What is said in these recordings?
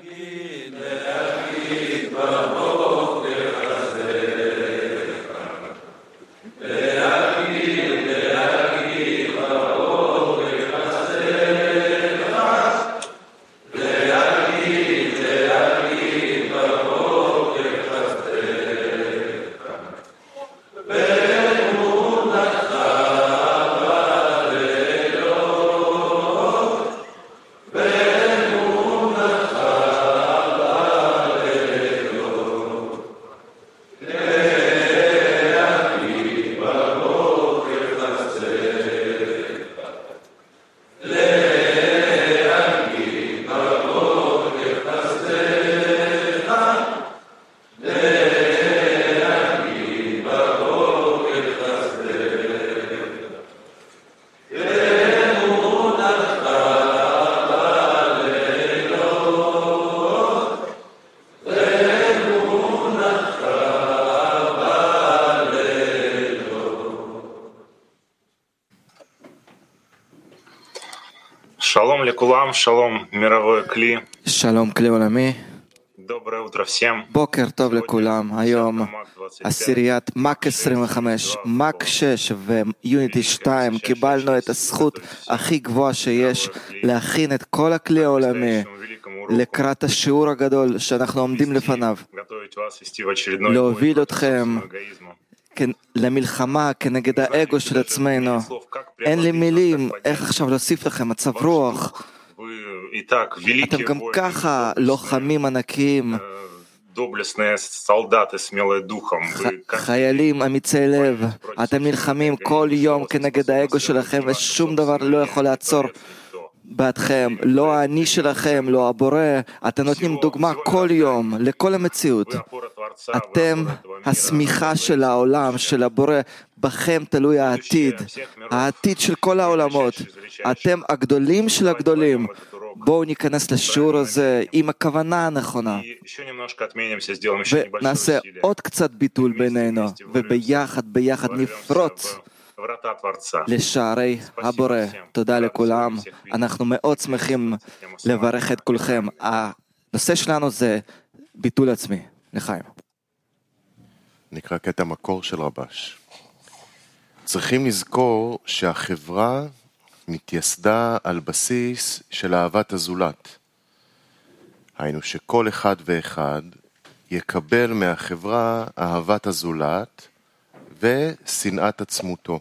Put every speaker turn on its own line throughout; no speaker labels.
Шалом лекулам, шалом мировой кли.
שלום כלי עולמי,
Доброе утро всем.
בוקר טוב לכולם. היום עשיריית מק 25, מק 6 ויוניטי 2. קיבלנו את הזכות הכי גבוהה שיש להכין את כל הכלי העולמי לקראת השיעור הגדול שאנחנו עומדים לפניו, להוביל אתכם למלחמה כנגד האגו של עצמנו. אין לי מילים איך עכשיו להוסיף לכם מצב רוח. אתם גם ככה לוחמים ענקיים, חיילים אמיצי לב. אתם נלחמים כל יום כנגד האגו שלכם ושום דבר לא יכול לעצור בעדכם, לא האני שלכם, לא הבורא. אתם נותנים דוגמה כל יום לכל המציאות. אתם הסמיכה של העולם, של הבורא. בכם תלוי העתיד, העתיד של כל העולמות. אתם הגדולים של הגדולים. בואו ניכנס לשיעור הזה עם הכוונה הנכונה ונעשה עוד קצת ביטול בינינו, וביחד נפרוץ לשערי הבורא. תודה לכולם, אנחנו מאוד שמחים לברך את כולכם. הנושא שלנו זה ביטול עצמי. לחיים.
נקרא קטע מקור של רבש. צריכים לזכור שהחברה מתייסדה על בסיס של אהבת הזולת. היינו שכל אחד ואחד יקבל מהחברה אהבת הזולת ושנאת עצמותו.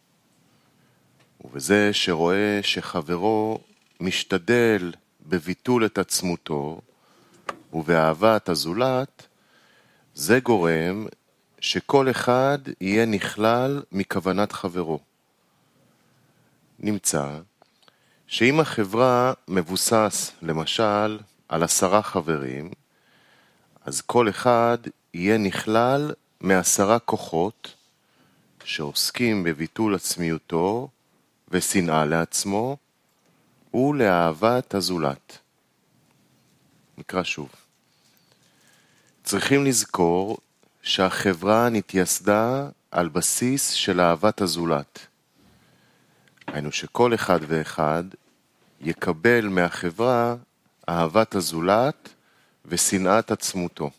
ובזה שרואה שחברו משתדל בביטול את עצמותו ובאהבת הזולת, זה גורם שכל אחד יהיה נכלל מכוונת חברו. נמצא שאם החברה מבוסס למשל על 10 חברים, אז כל אחד יהיה נכלל מ10 כוחות שעוסקים בביטול עצמיותו ושנאה לעצמו ולאהבת הזולת. נקרא שוב. צריכים לזכור שהחברה נתייסדה על בסיס של אהבת הזולת. היינו שכל אחד ואחד יקבל מהחברה אהבת הזולת ושנאת עצמותו.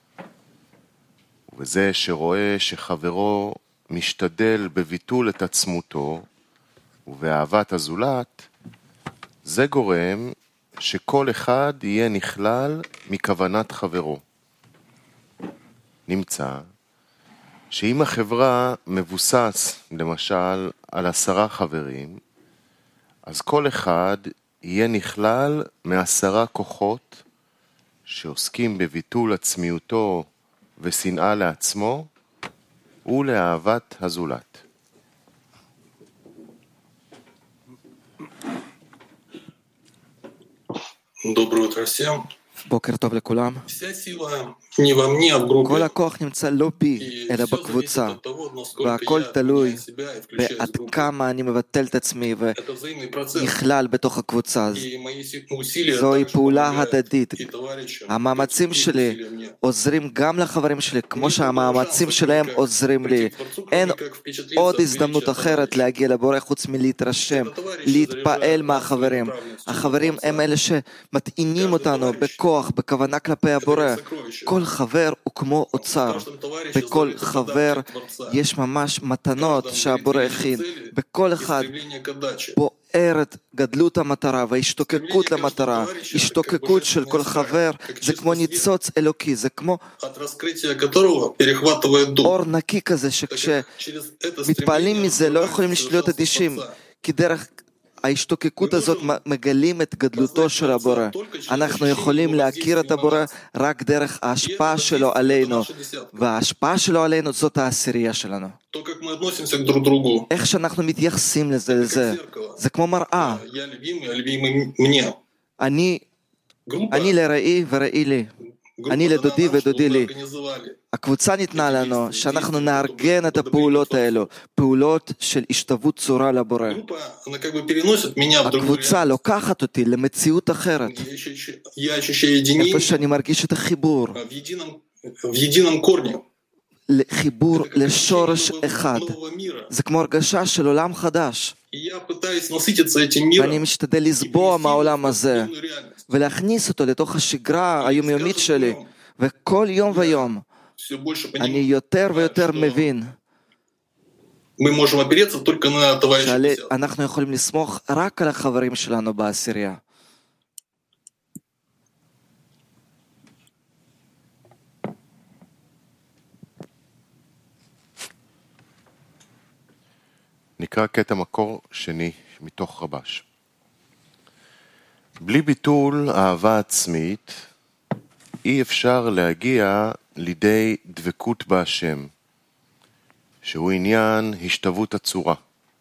ובזה שרואה שחברו משתדל בביטול את עצמותו ובאהבת הזולת, זה גורם שכל אחד יהיה נכלל מכוונת חברו. נמצא שאם החברה מבוסס למשל על 10 חברים, אז כל אחד יהיה נכלל מ10 כוחות שעוסקים בביטול עצמיותו ושנאה לעצמו ולאהבת הזולת.
Доброе утро всем.
בוקר טוב לכולם.
Вся сила не во мне, а в группе.
כל הכוח נמצא לא בי, אלא בקבוצה, והכל תלוי בעד כמה אני מבטל את עצמי ונכלל בתוך הקבוצה. זוהי פעולה הדדית. המאמצים שלי עוזרים גם לחברים שלי, כמו שהמאמצים שלהם עוזרים לי. אין עוד הזדמנות אחרת להגיע לבורא חוץ מלהתרשם, להתפעל מהחברים. החברים הם אלה שמטעינים אותנו בכוח. בכוח, בכוונה כלפי הבורא. כל חבר הוא כמו אוצר. בכל חבר יש ממש מתנות שהבורא הכין. בכל אחד בוערת גדלות המטרה וההשתוקקות למטרה. השתוקקות של כל חבר זה כמו ניצוץ אלוקי, זה כמו אור נקי כזה שכשמתפעלים מזה לא יכולים להיות אדישים, כי דרך ההשתוקקות הזאת מגלים את גדלותו של הבורא. אנחנו יכולים להכיר את הבורא רק דרך ההשפעה שלו עלינו, וההשפעה שלו עלינו זאת העשירייה שלנו. איך שאנחנו מתייחסים לזה, זה כמו מראה. אני לרעי ורעי לי, אני לדודי ודודי לי. הקבוצה ניתנה לנו שאנחנו נארגן את הפעולות האלו, פעולות של השתוות צורה לבורא. הקבוצה לוקחת אותי למציאות אחרת, איפה שאני מרגיש את החיבור, חיבור לשורש אחד. זה כמו הרגשה של עולם חדש, ואני משתדל לסבוע מהעולם הזה ולהכניס אותו לתוך השגרה היומיומית שלי, וכל יום ויום אני יותר ויותר מבין שאנחנו יכולים לסמוך רק על החברים שלנו בעשירייה.
נקרא קטע מקור שני מתוך רבש. בלי ביטול אהבה עצמית אי אפשר להגיע לידי דבקות בהשם, שהוא עניין השתוות הצורה.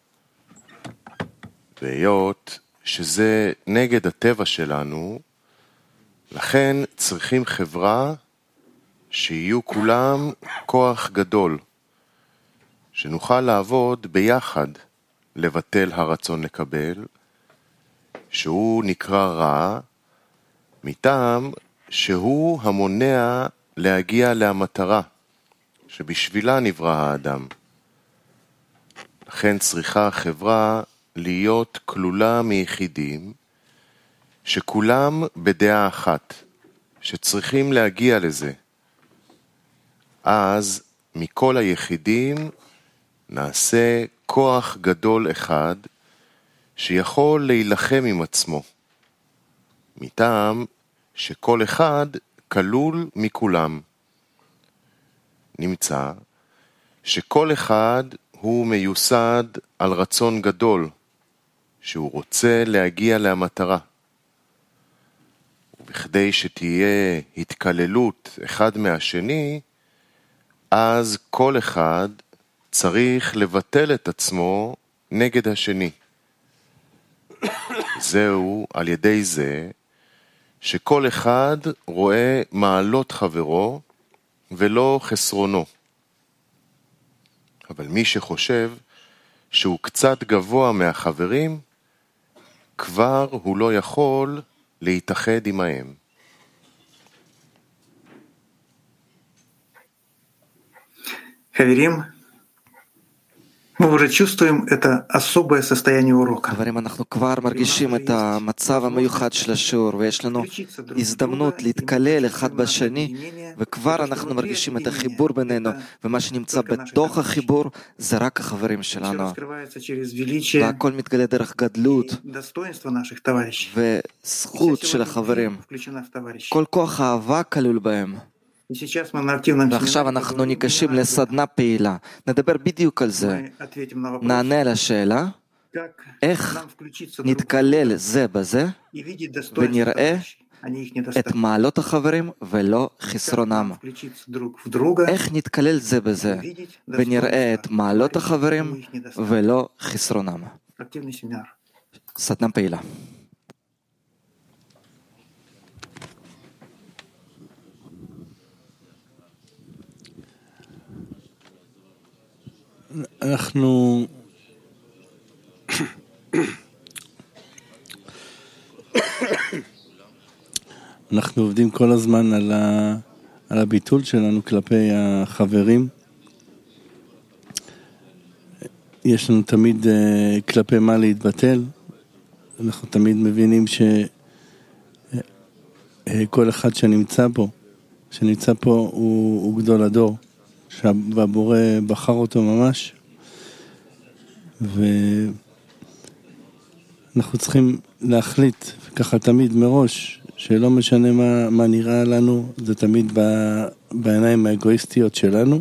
והיות שזה נגד הטבע שלנו, לכן צריכים חברה שיהיו כולם כוח גדול, שנוכל לעבוד ביחד לבטל הרצון לקבל, שהוא נקרא רע, מטעם שהוא המונע להגיע למטרה שבשבילה נברא האדם. לכן צריכה החברה להיות כלולה מיחידים שכולם בדעה אחת, שצריכים להגיע לזה. אז מכל היחידים נעשה כוח גדול אחד שיכול להילחם עם עצמו, מטעם שכל אחד כלול מכולם. נמצא שכל אחד הוא מיוסד על רצון גדול, שהוא רוצה להגיע למטרה. ובכדי שתהיה התקללות אחד מהשני, אז כל אחד צריך לבטל את עצמו נגד השני. זהו על ידי זה שכל אחד רואה מעלות חברו ולא חסרונו. אבל מי שחושב שהוא קצת גבוה מהחברים, כבר הוא לא יכול להתאחד עמהם.
חברים, мы уже чувствуем это особое состояние урока.
חברים, אנחנו כבר מרגישים את המצב המיוחד של השיעור, ויש לנו הזדמנות להתקלל אחד בשני, וכבר אנחנו מרגישים את החיבור בינינו, ומה שנמצא בתוך החיבור זה רק החברים שלנו. והכל מתגלה דרך גדלות וזכות של החברים. כל כוח האהבה כלול בהם. ועכשיו אנחנו ניגשים לסדנה פעילה. נדבר בדיוק על זה. נענה על השאלה, איך נתקלל זה בזה, ונראה את מעלות החברים ולא חסרונם. איך נתקלל זה בזה, ונראה את מעלות החברים ולא חסרונם. סדנה פעילה.
אנחנו עובדים כל הזמן על הביטול שלנו כלפי החברים. יש לנו תמיד כלפי מה להתבטל. אנחנו תמיד מבינים כל אחד שנמצא פה הוא גדול הדור, והבורא בחר אותו ממש, ואנחנו צריכים להחליט ככה תמיד מראש, שלא משנה מה נראה לנו, זה תמיד בעיניים האגואיסטיות שלנו,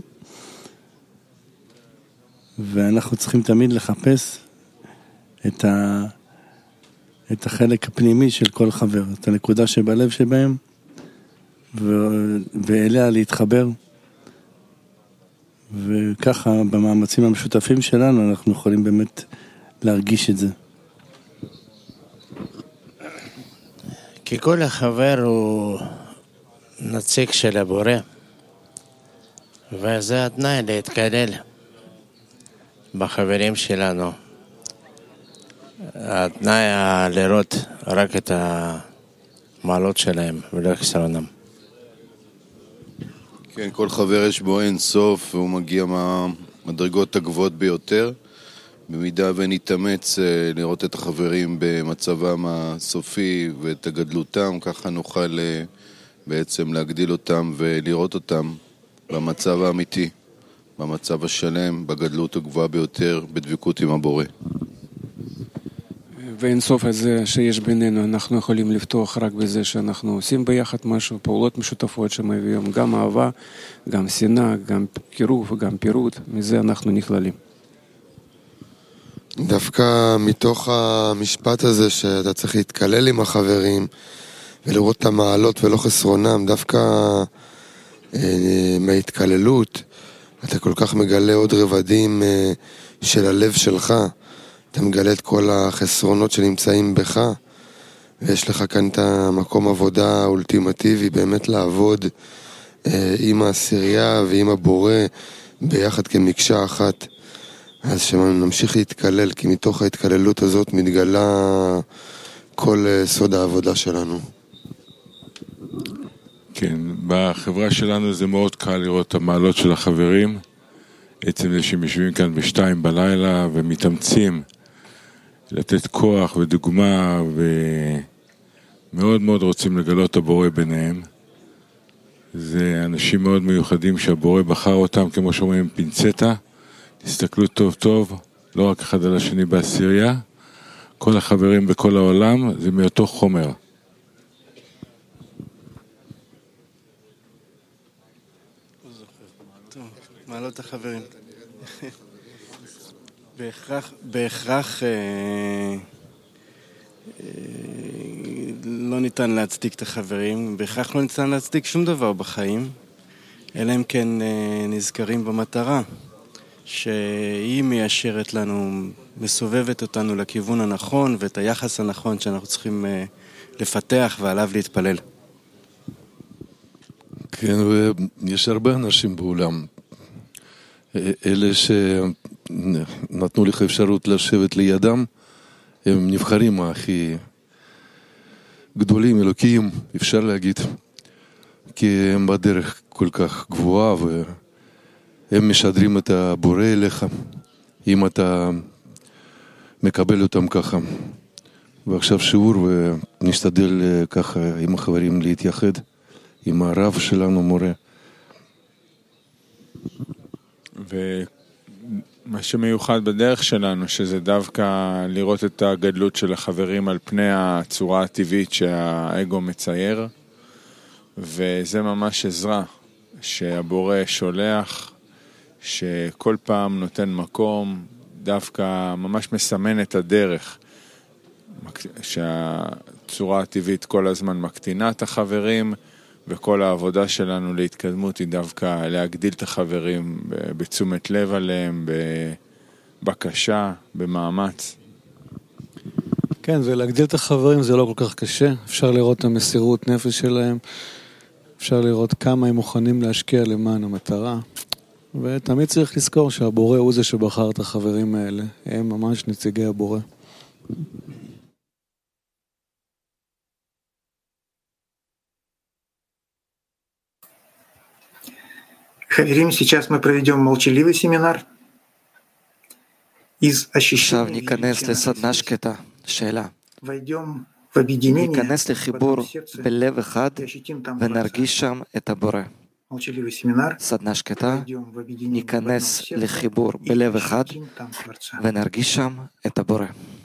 ואנחנו צריכים תמיד לחפש את החלק הפנימי של כל חבר, את הנקודה שבלב שבהם, ואליה להתחבר, וככה במאמצים המשותפים שלנו אנחנו יכולים באמת להרגיש את זה.
כי כל החבר הוא נציג של הבורא, וזה התנאי להתקלל בחברים שלנו. התנאי לראות רק את המעלות שלהם ולא חסרונם.
כן, כל חבר יש בו אין סוף, והוא מגיע מהמדרגות הגבוהות ביותר. במידה ונתאמץ לראות את החברים במצבם הסופי ואת הגדלותם, ככה נוכל בעצם להגדיל אותם ולראות אותם במצב האמיתי, במצב השלם, בגדלות הגבוהה ביותר, בדבקות עם הבורא.
ואינסוף הזה שיש בינינו, אנחנו יכולים לפתוח רק בזה שאנחנו עושים ביחד משהו, פעולות משותפות שמביאים גם אהבה, גם שנאה, גם קירוב, גם פירוד, מזה אנחנו נכללים.
דווקא מתוך המשפט הזה שאתה צריך להתקלל עם החברים ולראות את המעלות ולא חסרונם, דווקא מההתקללות אתה כל כך מגלה עוד רבדים של הלב שלך, אתה מגלה את כל החסרונות שנמצאים בך, ויש לך כאן את המקום עבודה האולטימטיבי, באמת לעבוד עם העשירייה ועם הבורא ביחד כמקשה אחת. אז שנמשיך להתקלל, כי מתוך ההתקללות הזאת מתגלה כל סוד העבודה שלנו.
כן, בחברה שלנו זה מאוד קל לראות את המעלות של החברים, עצם זה שהם יושבים כאן ב-2 בלילה ומתאמצים לתת כוח ודוגמה, ומאוד מאוד רוצים לגלות את הבורא ביניהם. זה אנשים מאוד מיוחדים שהבורא בחר אותם, כמו שאומרים, פינצטה. תסתכלו טוב טוב, לא רק אחד על השני בעשירייה, כל החברים בכל העולם זה מאותו חומר.
מעלות החברים. בהכרח לא ניתן להצדיק את החברים, בהכרח לא ניתן להצדיק שום דבר בחיים, אלא אם כן נזכרים במטרה, שהיא מיישרת לנו, מסובבת אותנו לכיוון הנכון ואת היחס הנכון שאנחנו צריכים לפתח ועליו להתפלל.
כן, ויש הרבה אנשים בעולם, אלה שנתנו לך אפשרות לשבת לידם, הם נבחרים הכי גדולים, אלוקיים, אפשר להגיד, כי הם בדרך כל כך גבוהה והם משדרים את הבורא אליך, אם אתה מקבל אותם ככה. ועכשיו שיעור ונשתדל ככה עם החברים להתייחד, עם הרב שלנו מורה.
ומה שמיוחד בדרך שלנו, שזה דווקא לראות את הגדלות של החברים על פני הצורה הטבעית שהאגו מצייר, וזה ממש עזרה שהבורא שולח, שכל פעם נותן מקום, דווקא ממש מסמן את הדרך, שהצורה הטבעית כל הזמן מקטינה את החברים, וכל העבודה שלנו להתקדמות היא דווקא להגדיל את החברים בתשומת לב עליהם, בבקשה, במאמץ.
כן, ולהגדיל את החברים זה לא כל כך קשה. אפשר לראות את המסירות נפש שלהם, אפשר לראות כמה הם מוכנים להשקיע למען המטרה, ותמיד צריך לזכור שהבורא הוא זה שבחר את החברים האלה. הם ממש נציגי הבורא.
Хаверим, сейчас мы проведем молчаливый семинар из ощущения.
עכשיו ניכנס לסדנה שקטה. שאלה.
Войдем
ניכנס לחיבור בלב אחד ונרגיש שם את הבורא. סדנה שקטה, ניכנס לחיבור בלב אחד ונרגיש שם את הבורא.